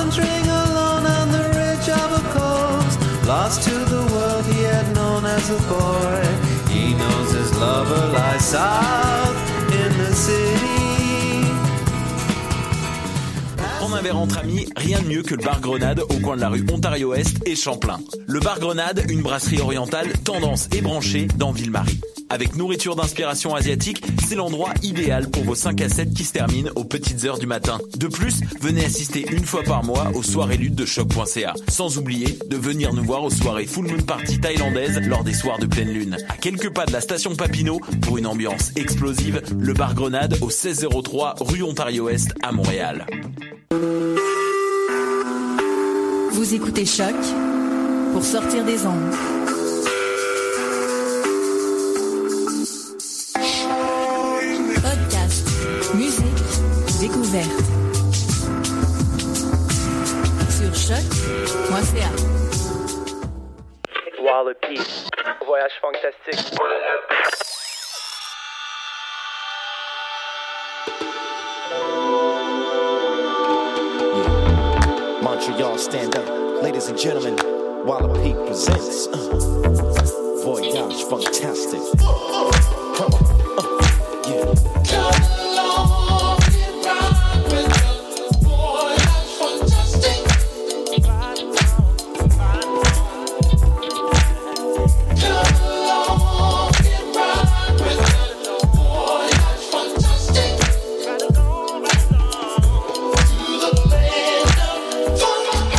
wandering alone on the ridge of a coast, lost to the world he had known as a boy. He knows his lover lies south in the city. Prendre un verre entre amis, rien de mieux que le bar Grenade au coin de la rue Ontario-Est et Champlain. Le bar Grenade, une brasserie orientale, tendance et branchée dans Ville-Marie. Avec nourriture d'inspiration asiatique, c'est l'endroit idéal pour vos 5 à 7 qui se terminent aux petites heures du matin. De plus, venez assister une fois par mois aux soirées luttes de choc.ca. Sans oublier de venir nous voir aux soirées Full Moon Party thaïlandaises lors des soirs de pleine lune. À quelques pas de la station Papineau, pour une ambiance explosive, le bar Grenade au 1603 rue Ontario-Est à Montréal. Vous écoutez Choc pour sortir des ondes. Podcast, musique, découverte. Sur choc.ca. Wallopy, voyage fantastique. Montreal, stand up. Ladies and gentlemen, Wallopy presents Voyage Fantastic. Come on, yeah. Come along and ride with us, Voyage Fantastic. Come along and ride with us, Voyage Fantastic. To the land of fun.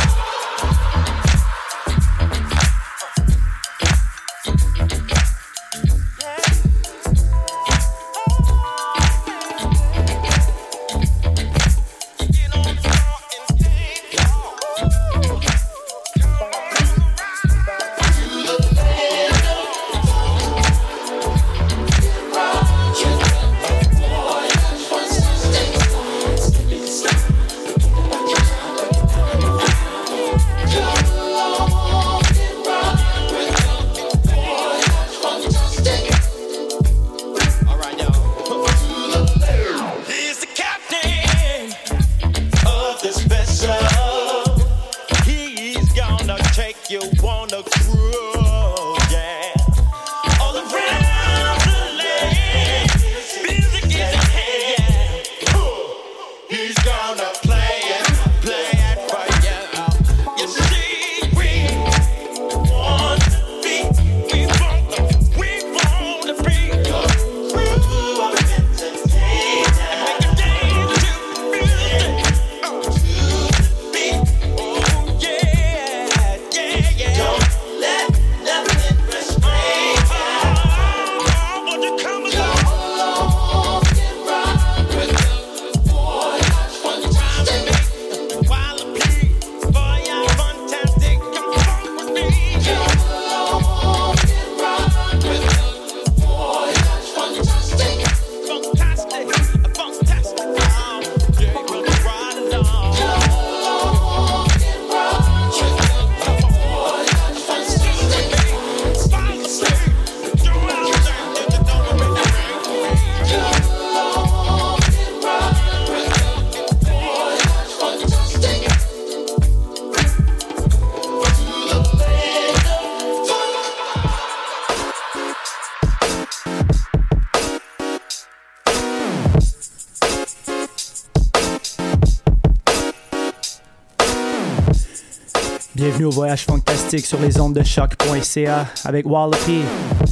Bienvenue au Voyage Fantastique sur les ondes de choc.ca avec Wallopy.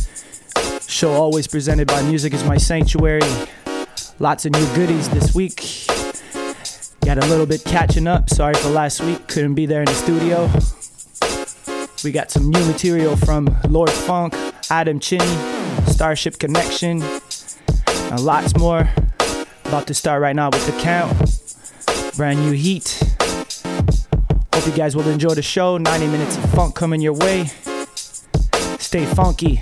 Show always presented by Music is My Sanctuary. Lots of new goodies this week. Got a little bit catching up. Sorry for last week. Couldn't be there in the studio. We got some new material from Lord Funk, Adam Chinny, Starship Connection, and lots more. About to start right now with The Count. Brand new heat. Hope you guys will enjoy the show. 90 minutes of funk coming your way. Stay funky.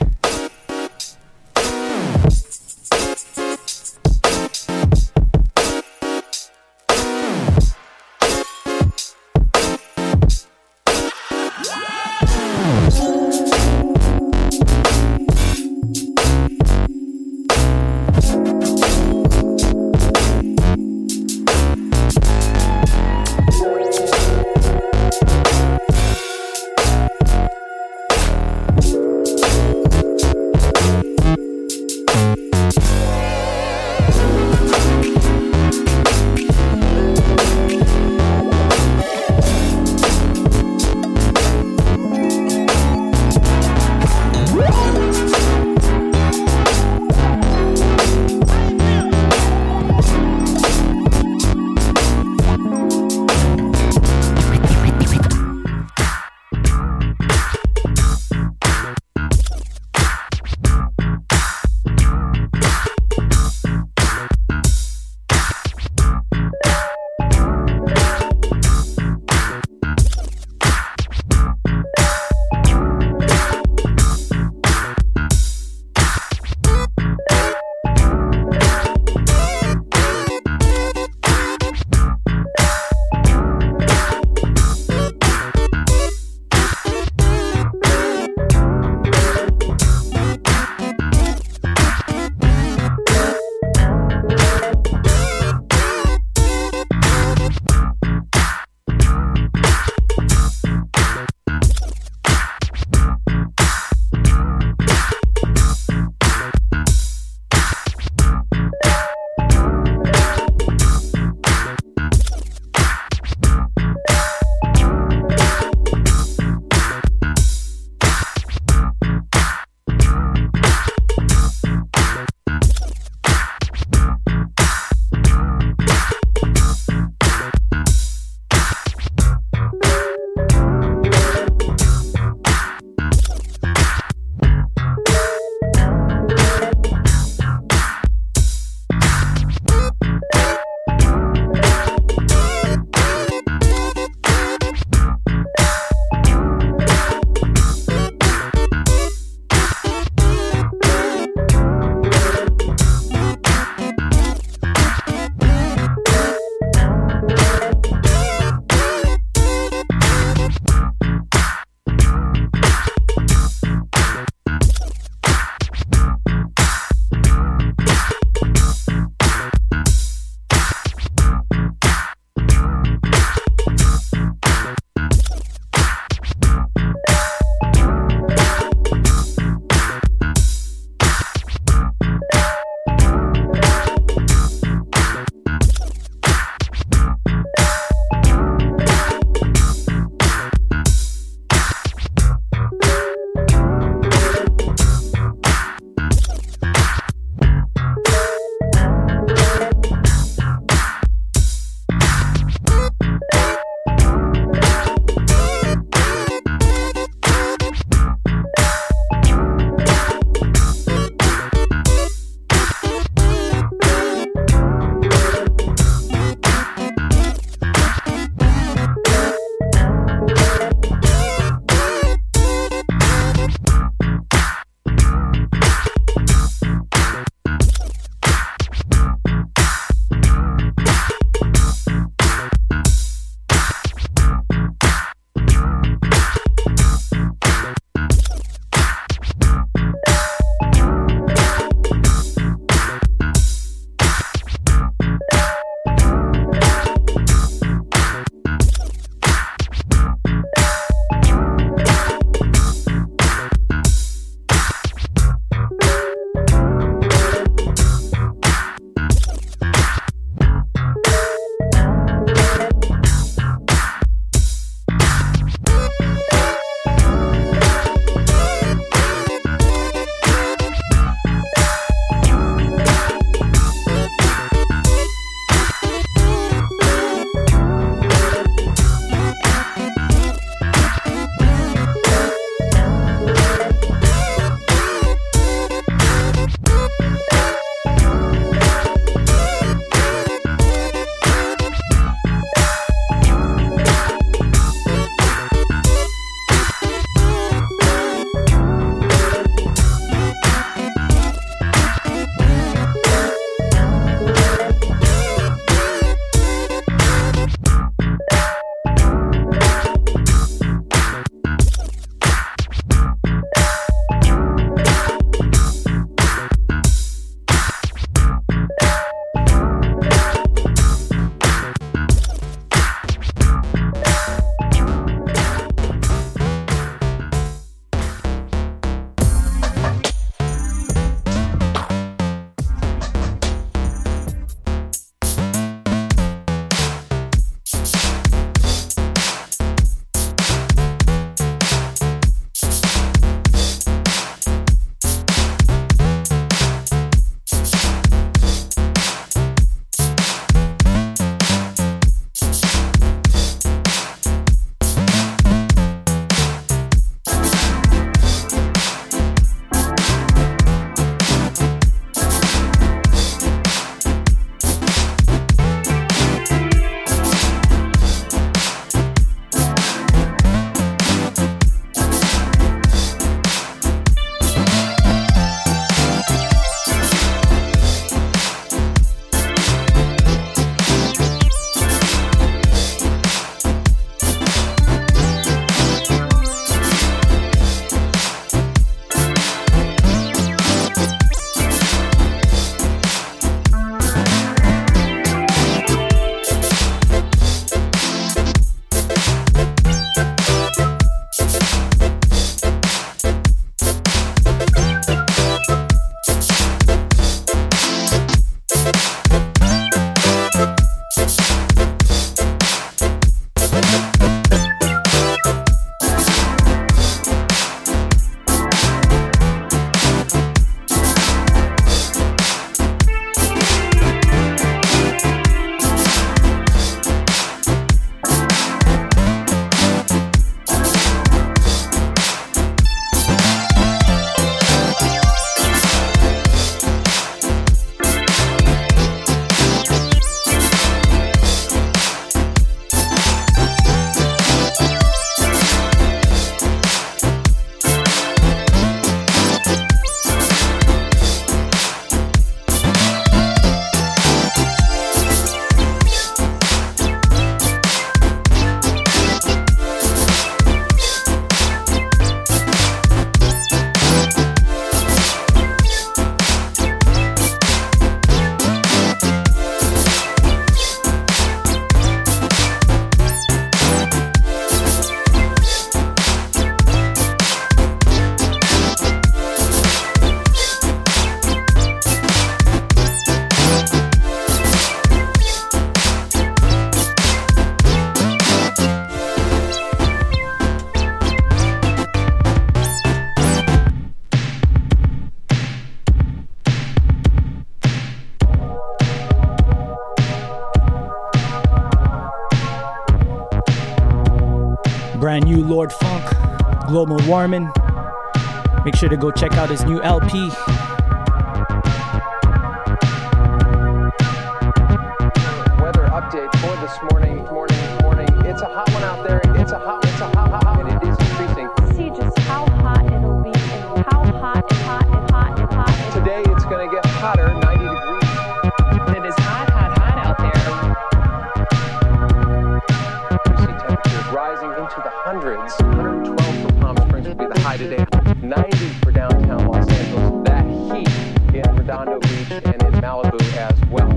brand new Lord Funk, Global Warming. Make sure to go check out his new LP. Weather update for this morning. It's a hot one out there. It's a hot, and it is increasing. See just how hot it'll be and how hot. Today it's going to get hotter, 90 degrees. It is hot out there. We see temperatures rising into the hundreds. 112 for Palm Springs will be the high today. 90 for downtown Los Angeles. That heat in Redondo Beach and in Malibu as well.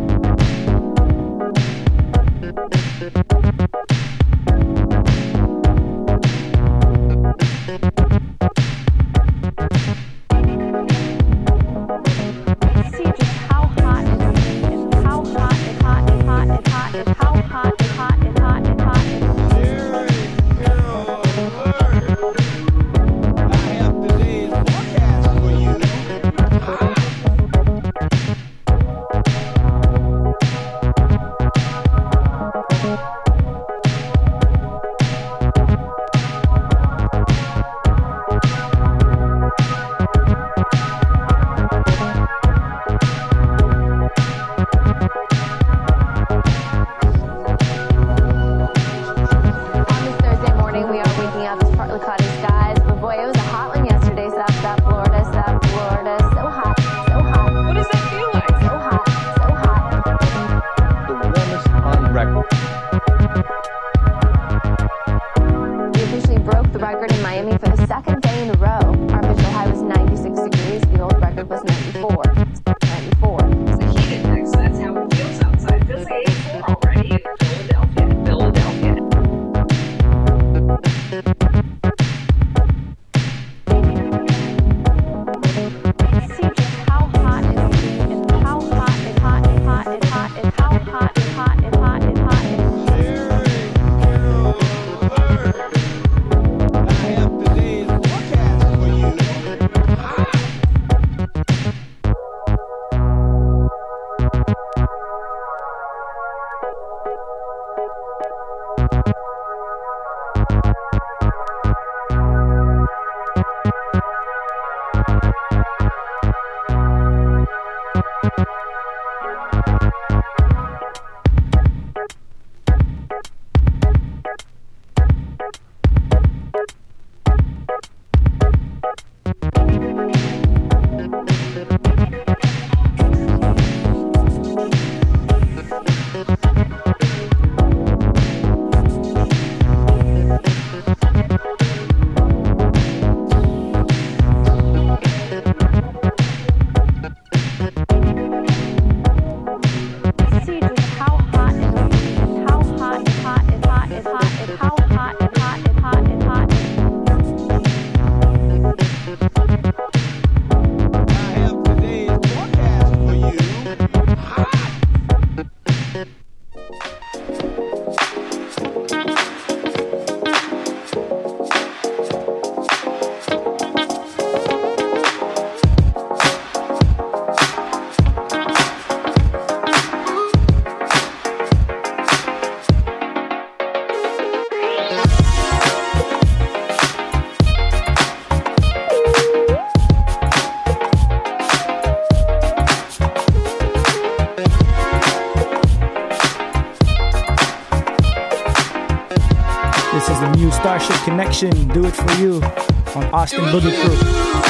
Starship Connection, Do It For You on Austin Boogie Crew.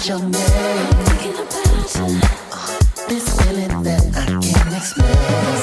get your name. Thinking about you. This feeling that I can't explain.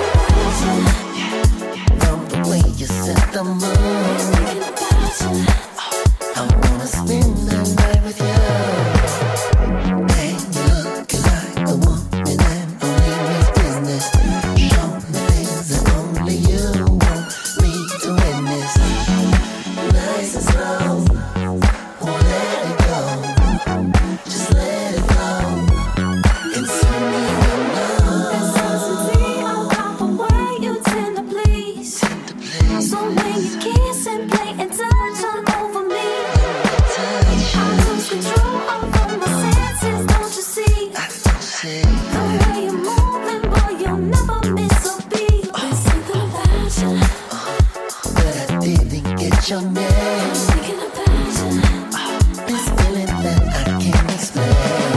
From the way you set the mood. Thinking about you. I wanna spend the night with you. Hey, you look like a woman and only means business. Show me things that only you want me to witness. Nice and slow, won't let it go. Just let it flow. And soon you will know. There's something about the way you tend to please. So when you kiss and play and touch all over me, I lose control over my senses, don't you see? The way you're moving, boy, you'll never miss a beat. There's something about you. But I didn't get your name. Thinking about you. This feeling that I can't explain.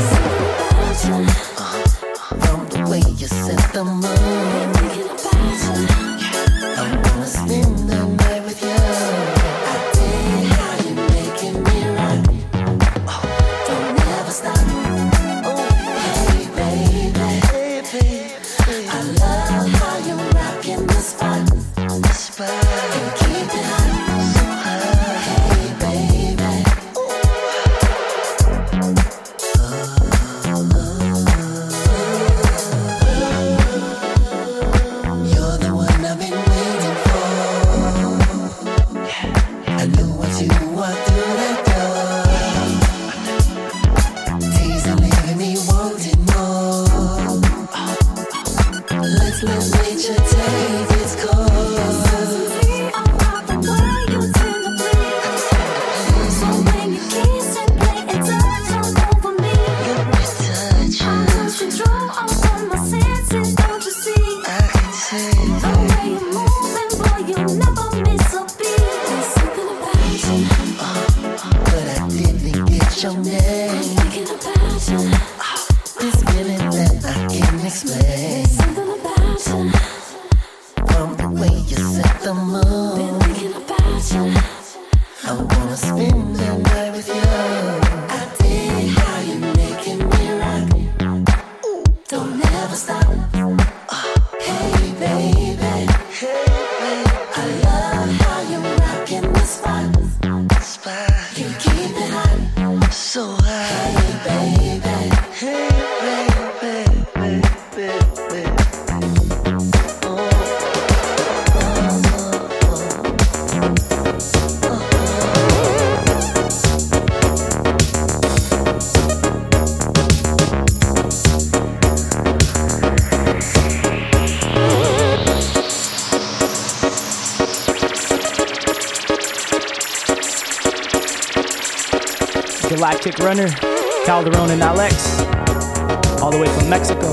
From the way you set the mood. Thinking about you. I wanna spend the night with you. I dig how you're making me rock. Don't ever stop. Hey baby, I love how you're rocking the spot. And keep it hot. Hey baby. You're the one I've been waiting for. I knew what you walked through that door. Teasing, leaving me wanting more. Let's let nature take its course. Something about the way you tend to please. So when you kiss and play and touch all over me, I lose control over my senses, don't you see? The way you're moving, boy, you'll never miss a beat. There's something about you. But I didn't get your name. Thinking about you. This feeling that I can't explain. There's something about you. From the way you set the mood. Been thinking about you. I wanna spend the night with you. I dig how you're making me rock. Don't ever stop. Hey baby, I love how you're rocking the spot. You keep it hot, so hot. Hey baby, Galactic Runner, Calderon and Alex, all the way from Mexico.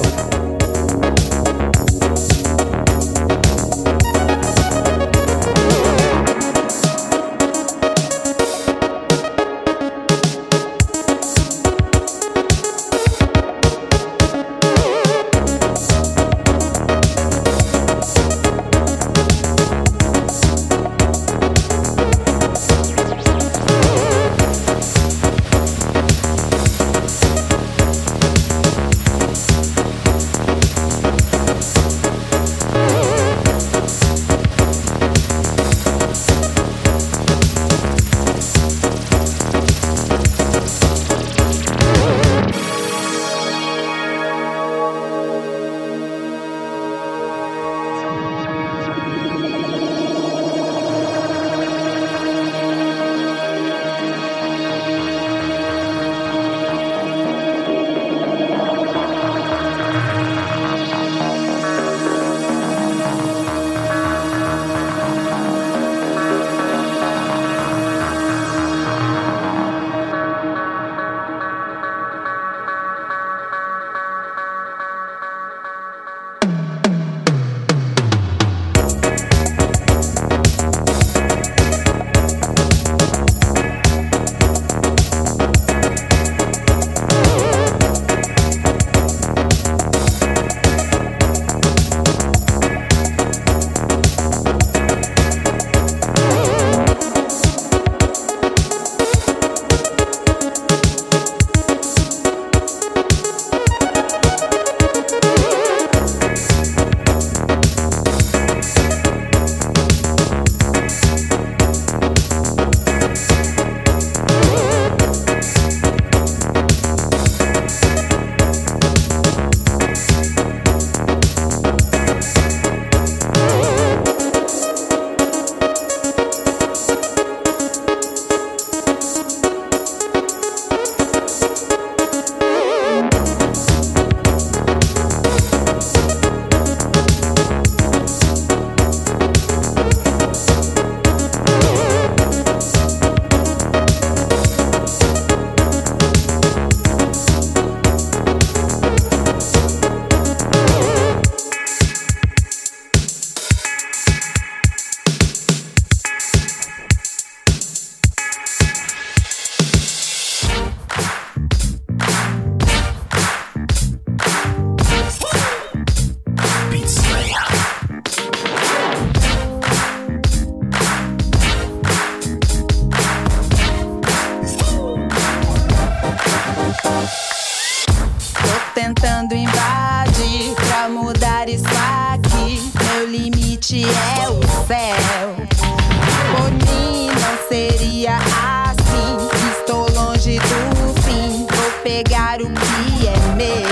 dia assim, estou longe do fim. Vou pegar o que é meu.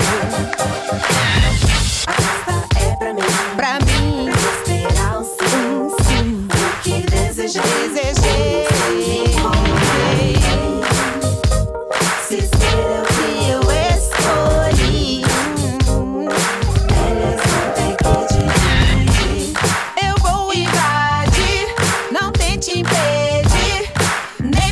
A festa é pra mim, pra mim. Esperar um sim, o que desejei. Se ser o que eu escolhi, eles vão ter que dividir. Eu vou invadir, não tente impedir, nem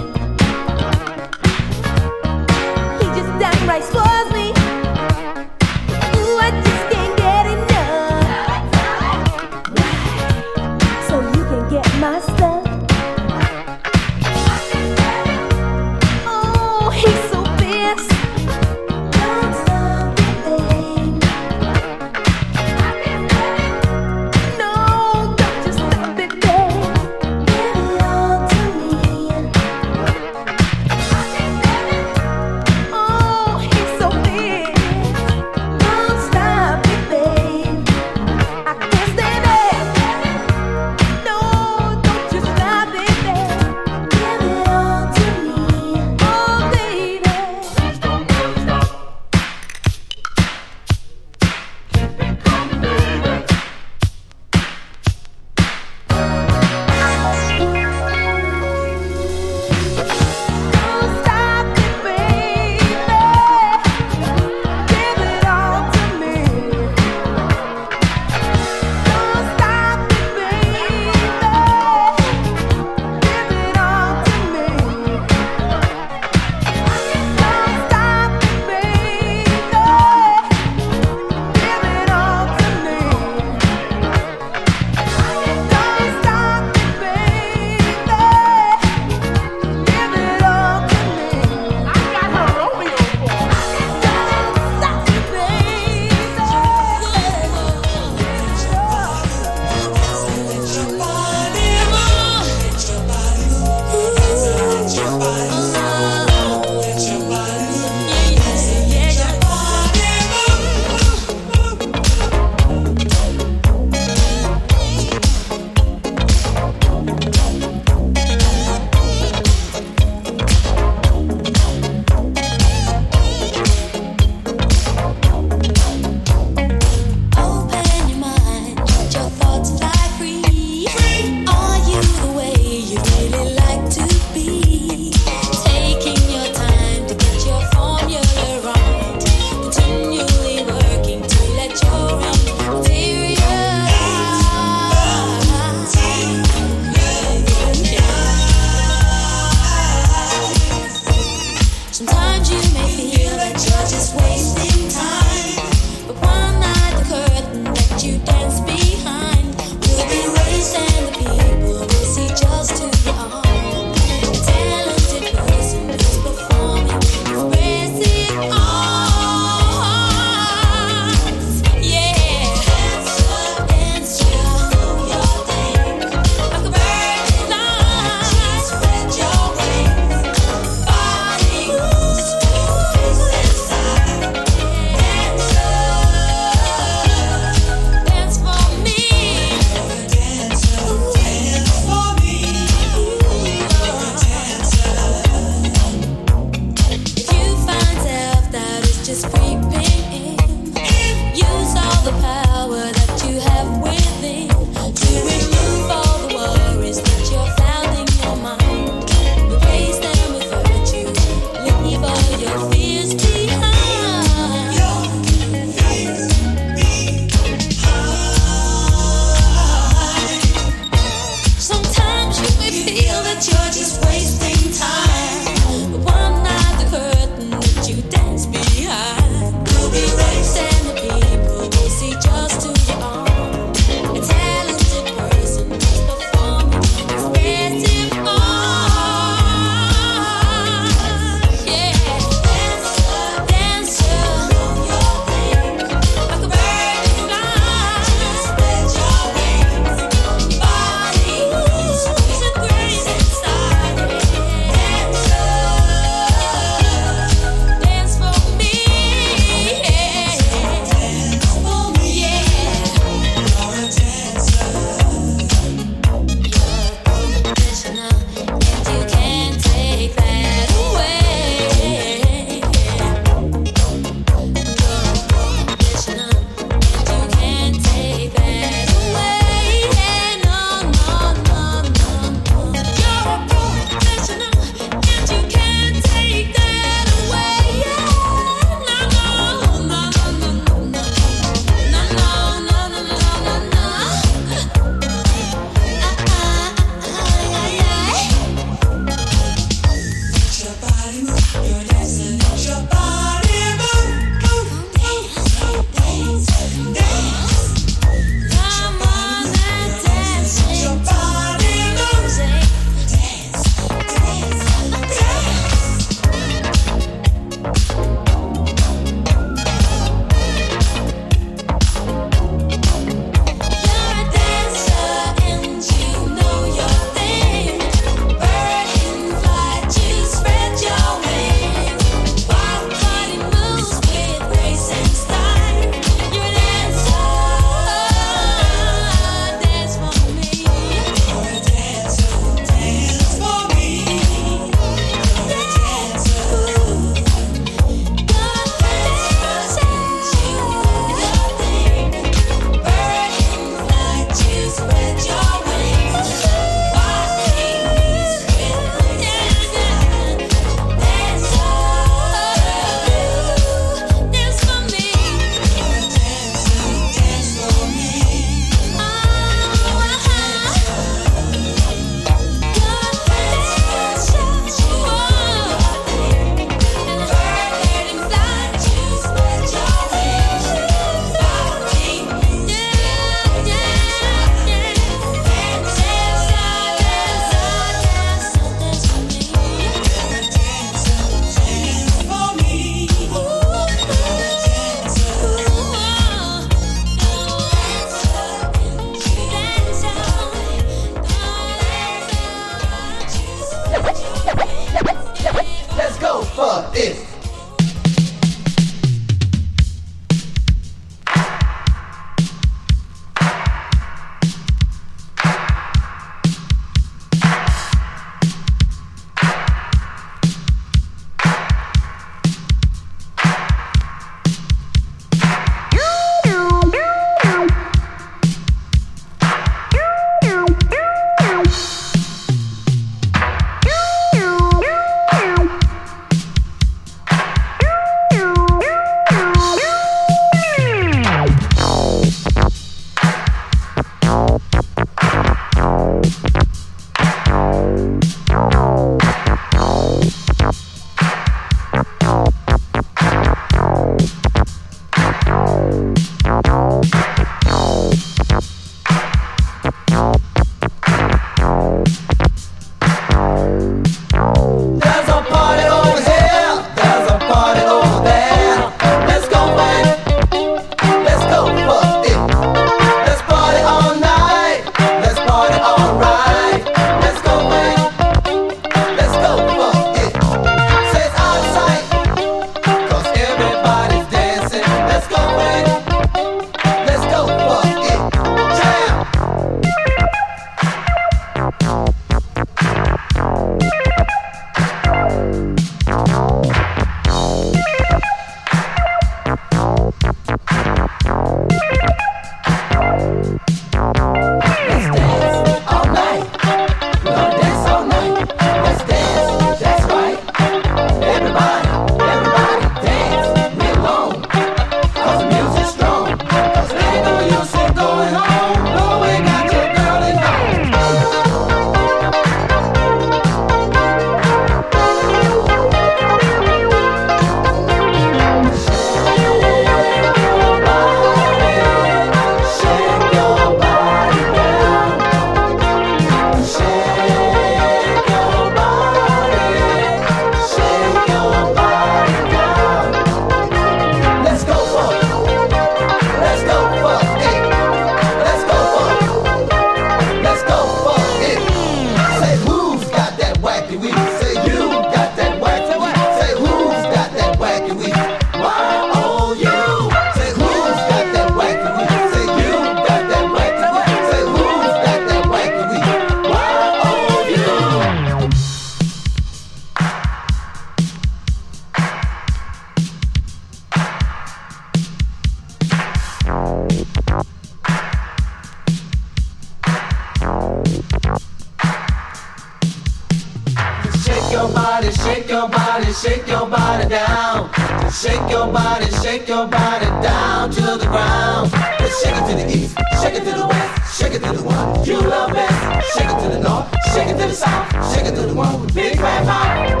body, shake your body, shake your body down. Shake your body down to the ground. Let's shake it to the east, shake it to the west, shake it to the one you love best. Shake it to the north, shake it to the south, shake it to the one with big fat mouth.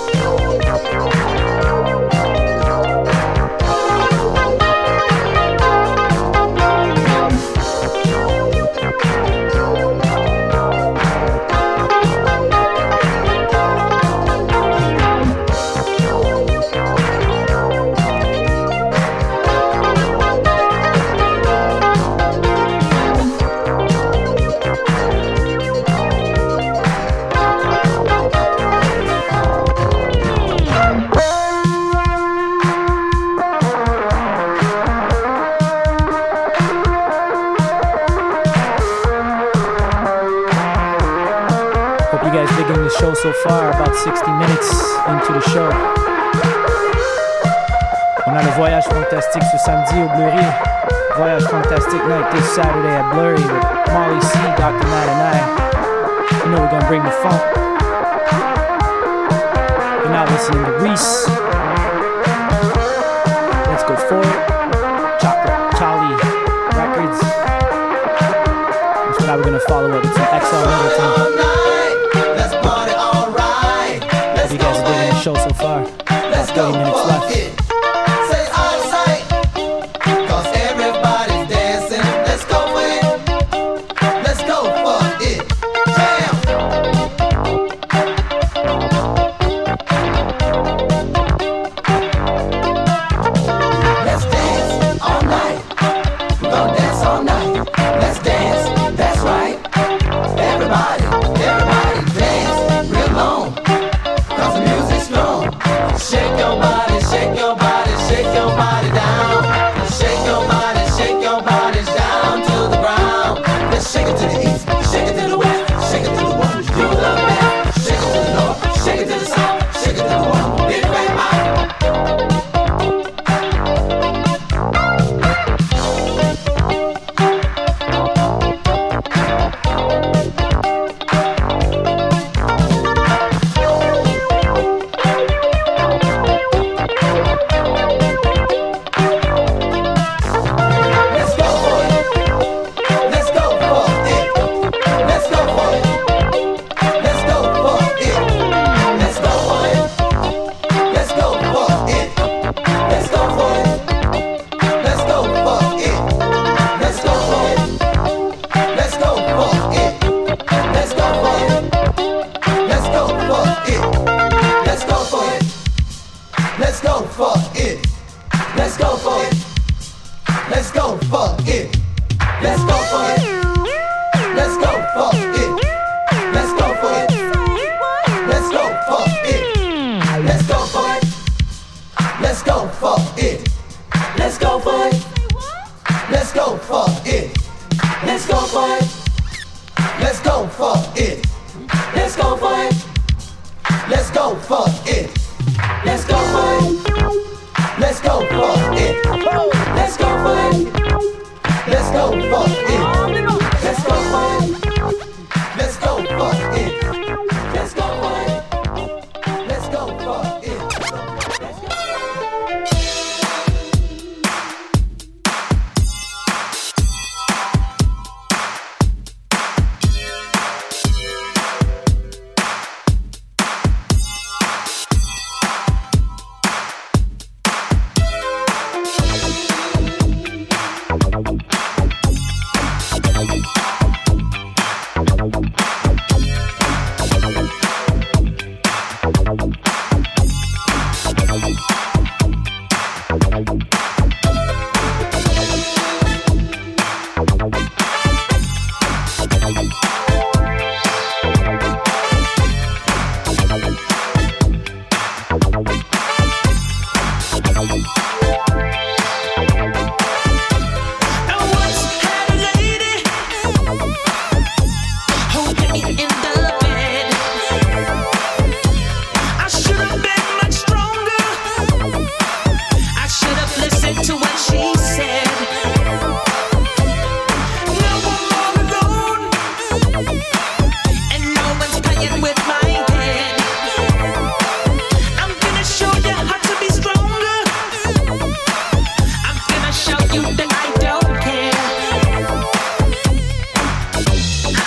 Show so far, about 60 minutes into the show. On a le Voyage Fantastique ce samedi au Bleury. Voyage Fantastique night this Saturday at Bleury with Molly C, Dr. Matt and I. You know we're gonna bring the funk. You're now listening to Reese. Let's go for it. Chocolate Charlie Records. So now we're gonna follow up with some XL Middleton. Show so far. Let's 30 minutes left. Say out of sight, 'cause everybody's dancing. Let's go for it. Let's go for it. Jam. Let's dance all night. We're gonna dance all night. Let's dance. That's right. Everybody dance real long. 'Cause the music's strong. Shake your body, shake your body, shake your body down. Shake your body down to the ground. Let's shake it to the east, shake it to the west, shake it to the one you love best. Shake it to the north, shake it to the south, shake it to the one big fat mouth.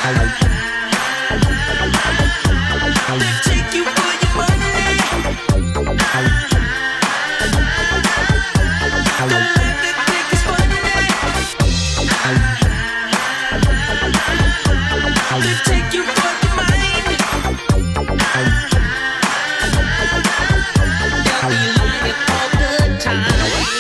Take you for your money. The life they think is funny. They take you for your mind. They'll be lying all the time.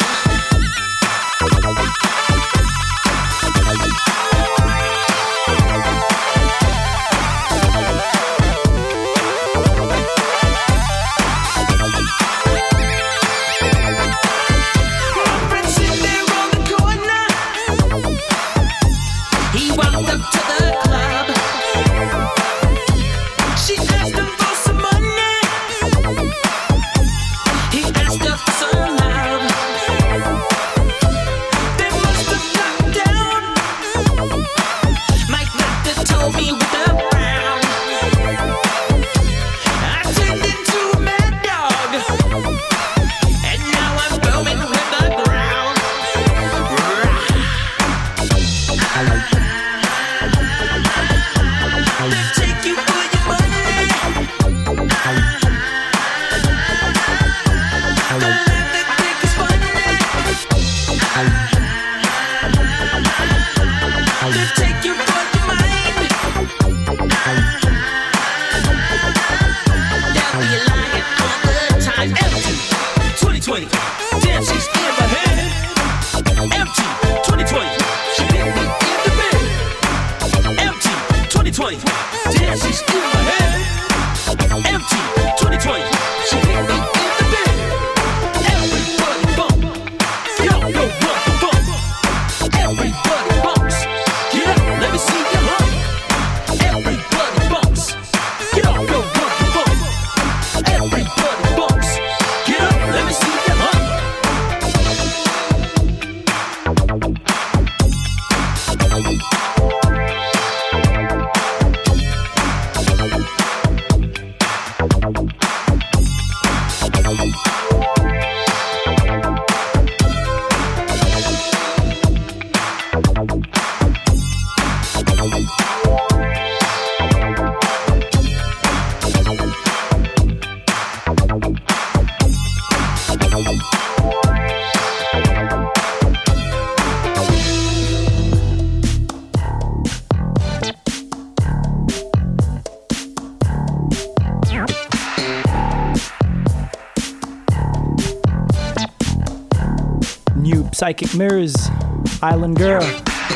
Psychic Mirrors, Island Girl.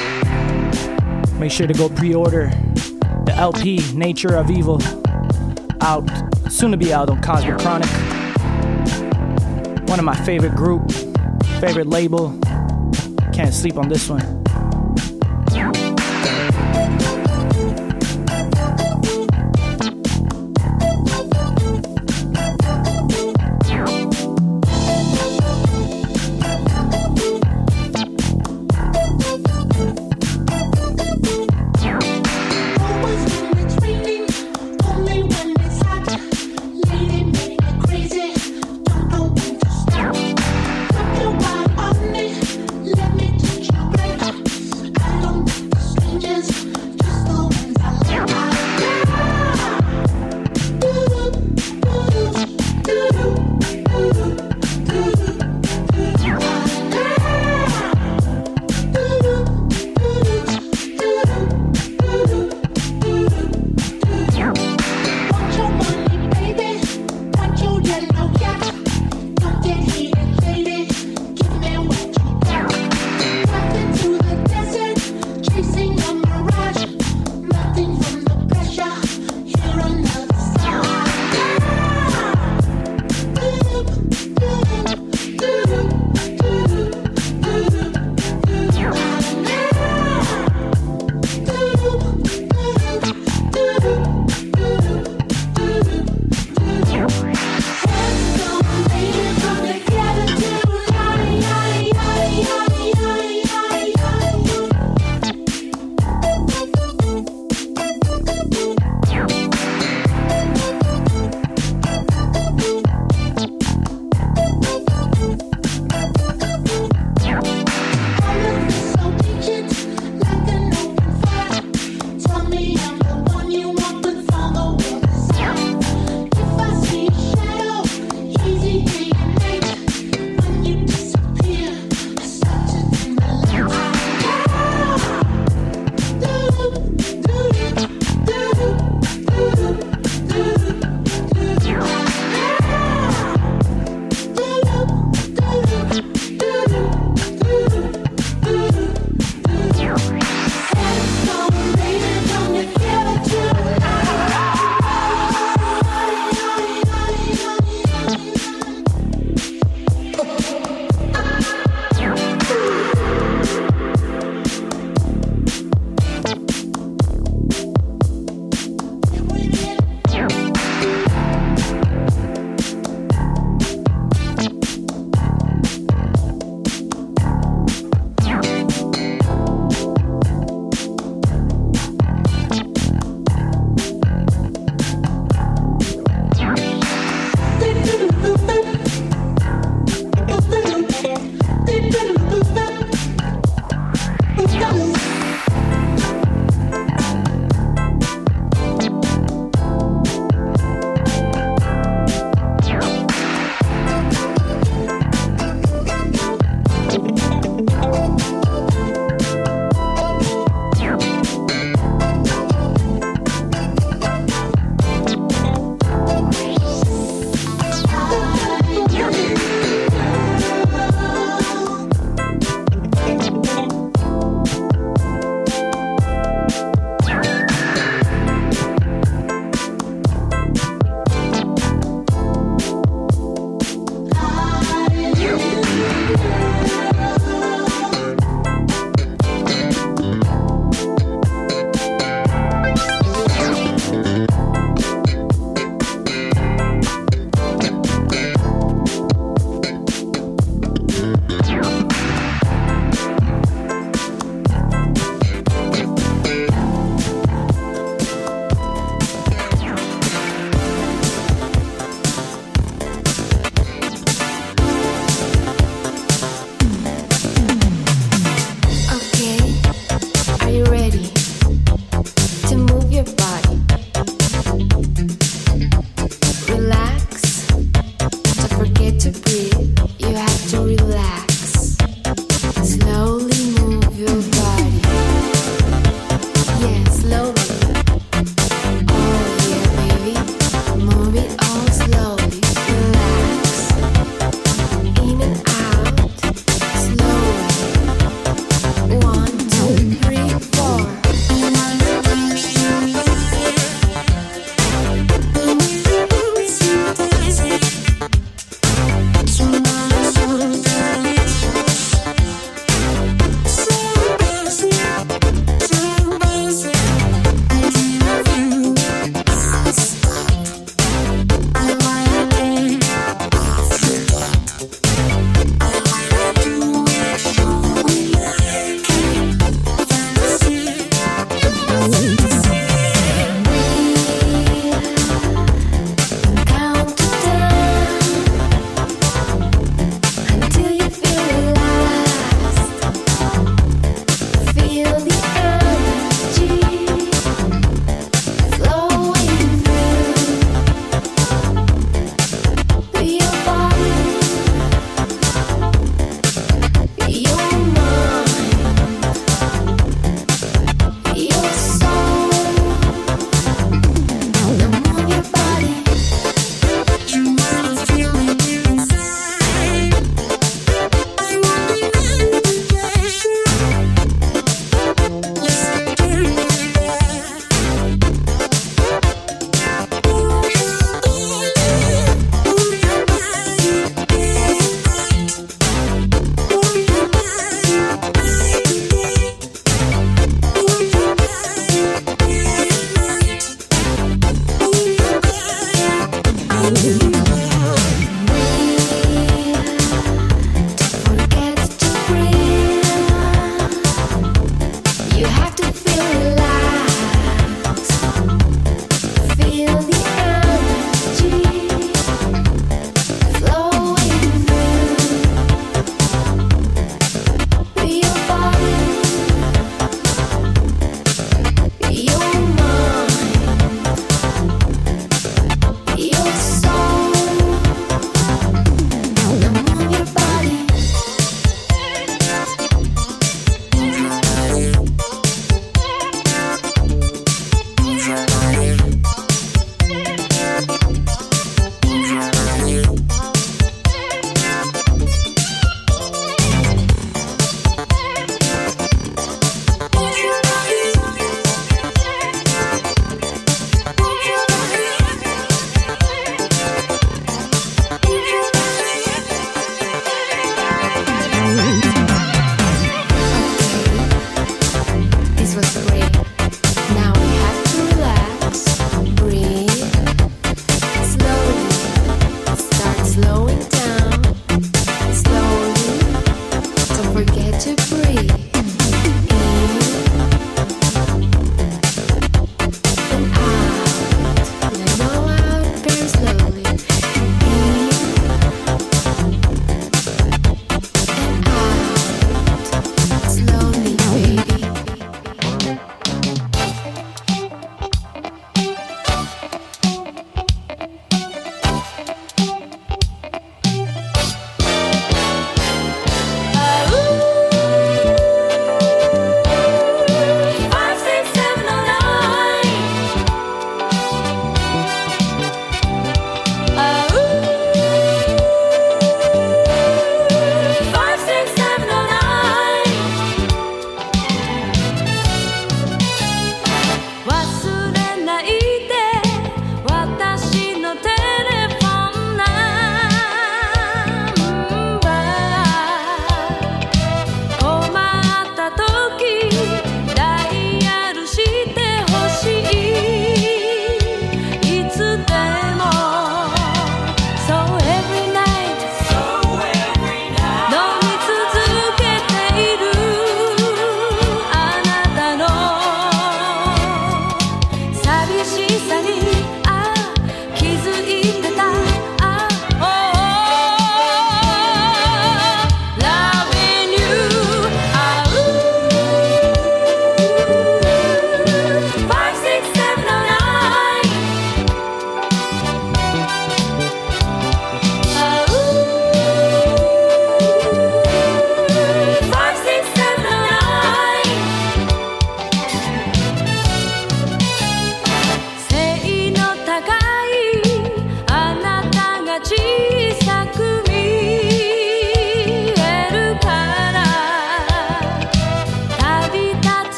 Make sure to go pre-order the LP, Nature of Evil, out, soon to be out on Cosmic Chronic. One of my favorite group, favorite label. Can't sleep on this one. Let me touch your brain.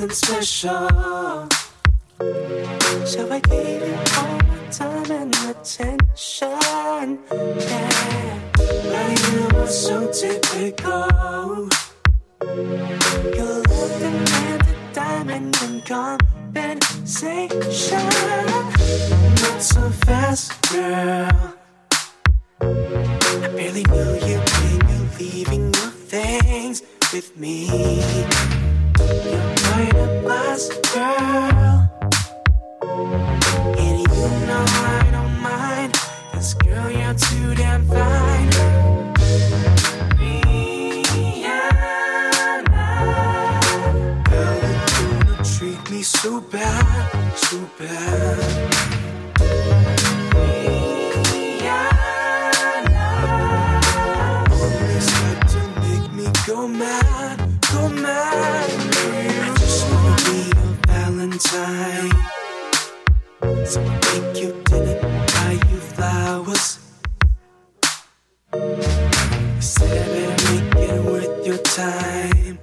something special. So I gave you all my time and attention. Yeah, but you were so typical. You love demanded diamond and compensation. Not so fast, girl. I barely knew you when you're leaving your things with me. You're quite a boss, girl. And you know I don't mind, 'cause girl, you're too damn fine. Girl, you gonna treat me so bad, so bad. Go mad, go mad. I just wanna be your Valentine. So I take you dinner, buy you flowers. You said I better make it worth your time.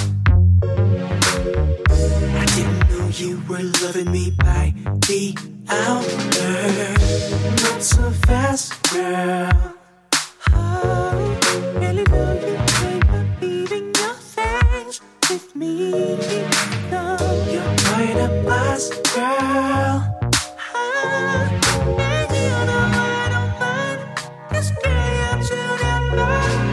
I didn't know you were loving me by the hour. Not so fast, girl. Oh, really know you leaving your things with me. No, you're quite a boss, girl. And you know I don't mind, 'cause girl, you're too damn fine.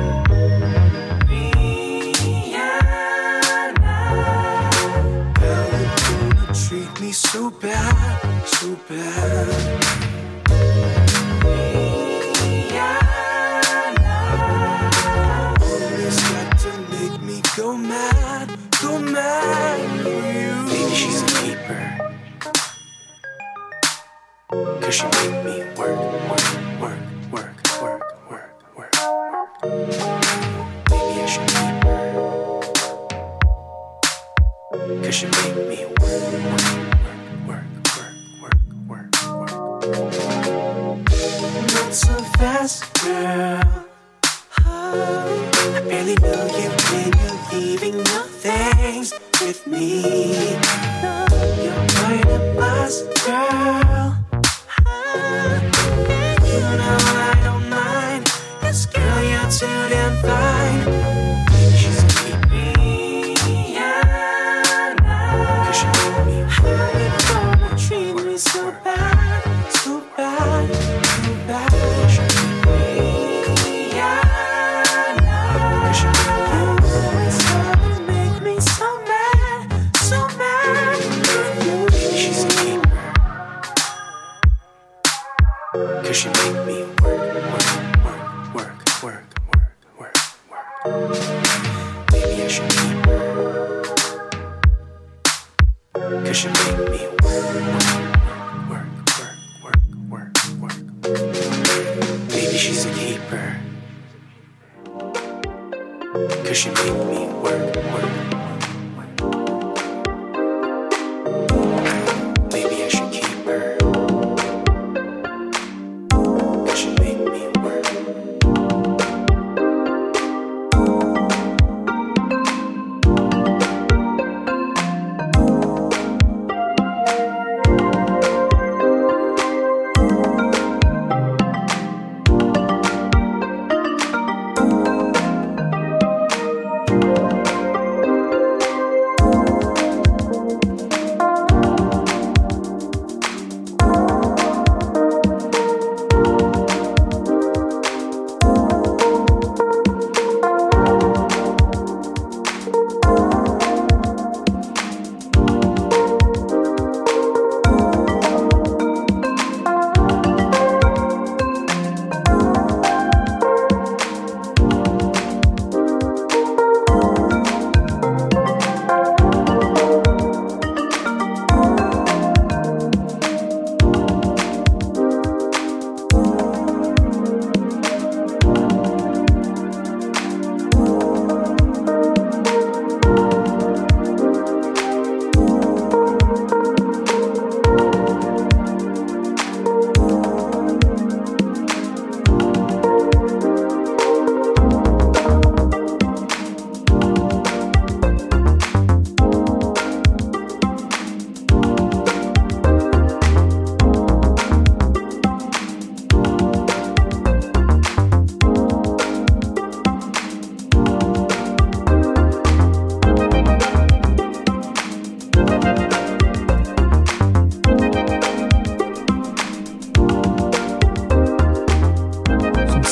Rihanna, girl, you're gonna treat me so bad, so bad. Go mad for you. Baby, she's a keeper. 'Cause she make me work. Baby, I should keep her. 'Cause she make me work. Not so fast, girl. I barely know you when you're leaving your things with me. You're quite a boss, girl. And you know I don't mind, 'cause girl, you're too damn fine. Baby, she's a keeper. 'Cause she make me how you gonna treat me so bad, so bad, so bad. She make me work. Maybe I should keep her. 'Cause she make me work. Maybe she's a keeper. 'Cause she make me work. Maybe I should keep her.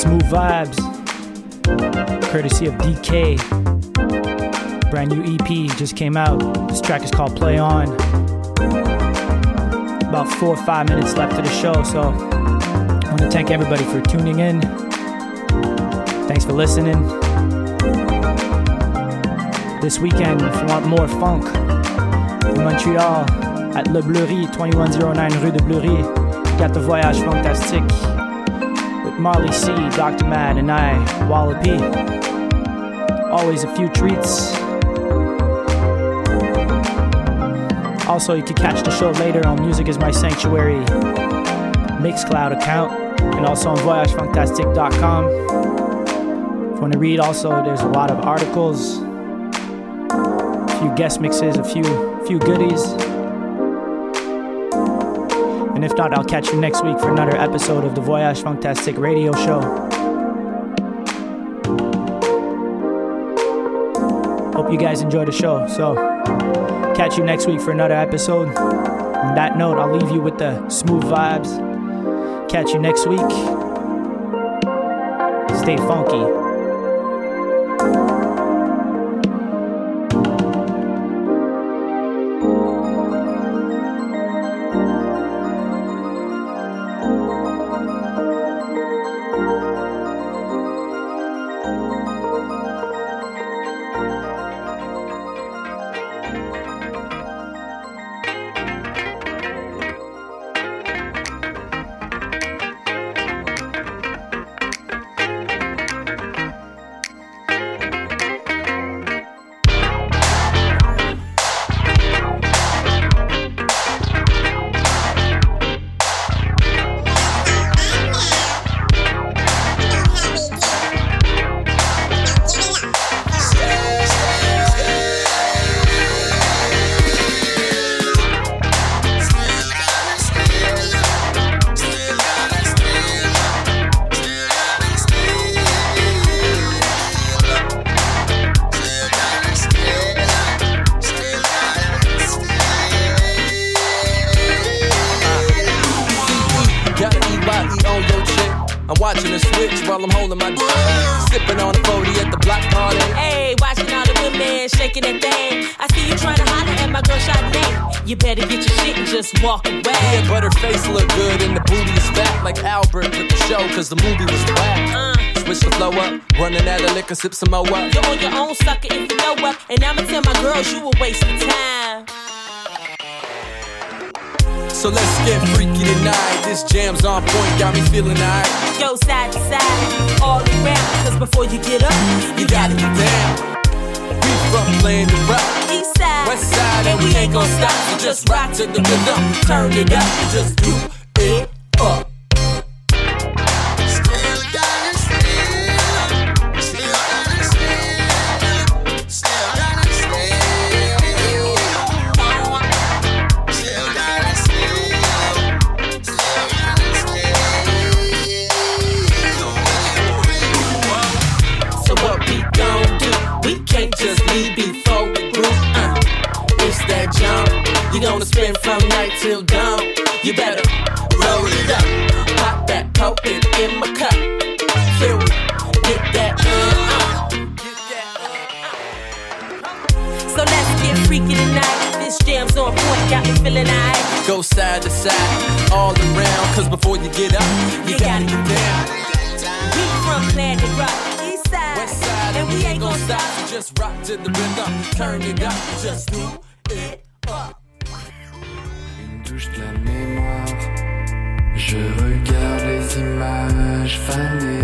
Smooth Vibes, courtesy of DK. Brand new EP just came out. This track is called Play On. About 4 or 5 minutes left of the show, so I want to thank everybody for tuning in. Thanks for listening. This weekend, if you want more funk in Montreal, at Le Bleury, 2109 Rue de Bleury, you got the Voyage Fantastique with Marley C, Dr. Mad, and I, Wallopy. Always a few treats. Also, you can catch the show later on Music Is My Sanctuary Mixcloud account, and also on voyagefantastique.com. If you want to read also, there's a lot of articles, a few guest mixes, a few goodies. And if not, I'll catch you next week for another episode of the Voyage Fantastique radio show. Hope you guys enjoy the show. So, catch you next week for another episode. On that note, I'll leave you with the smooth vibes. Catch you next week. Stay funky. Watching her switch while I'm holding my dick. Sipping on a 40 at the block party. Hey, watching all the women shaking that thing. I see you trying to holler at my girl Sade. You better get your shit and just walk away. Yeah, but her face look good and the booty is fat like Albert with the show, cause the movie was whack. Switch the flow up, running out of liquor, sip some more up. You're on your own, sucker, if you know up. And I'ma tell my girls you a waste of time. So let's get freaky tonight. This jam's on point, got me feeling alright. Go side to side, all around. Cause before you get up, you gotta get down. We from playing the rock, east side, west side, and we ain't gon' stop. So just rock to the rhythm, turn it up, and just do it up. Gonna spend from night till dawn. You better roll it up, pop that, poke it in my cup. Feel me, get that So let's get freaky tonight. This jam's on point, got me feeling alright. Go side to side, all around. Cause before you get up, you gotta get down. We from Planet Rock, east side, west side, and we ain't gon' stop. So just rock to the rhythm, turn it up, just do it up. Touche de la mémoire, je regarde les images fanées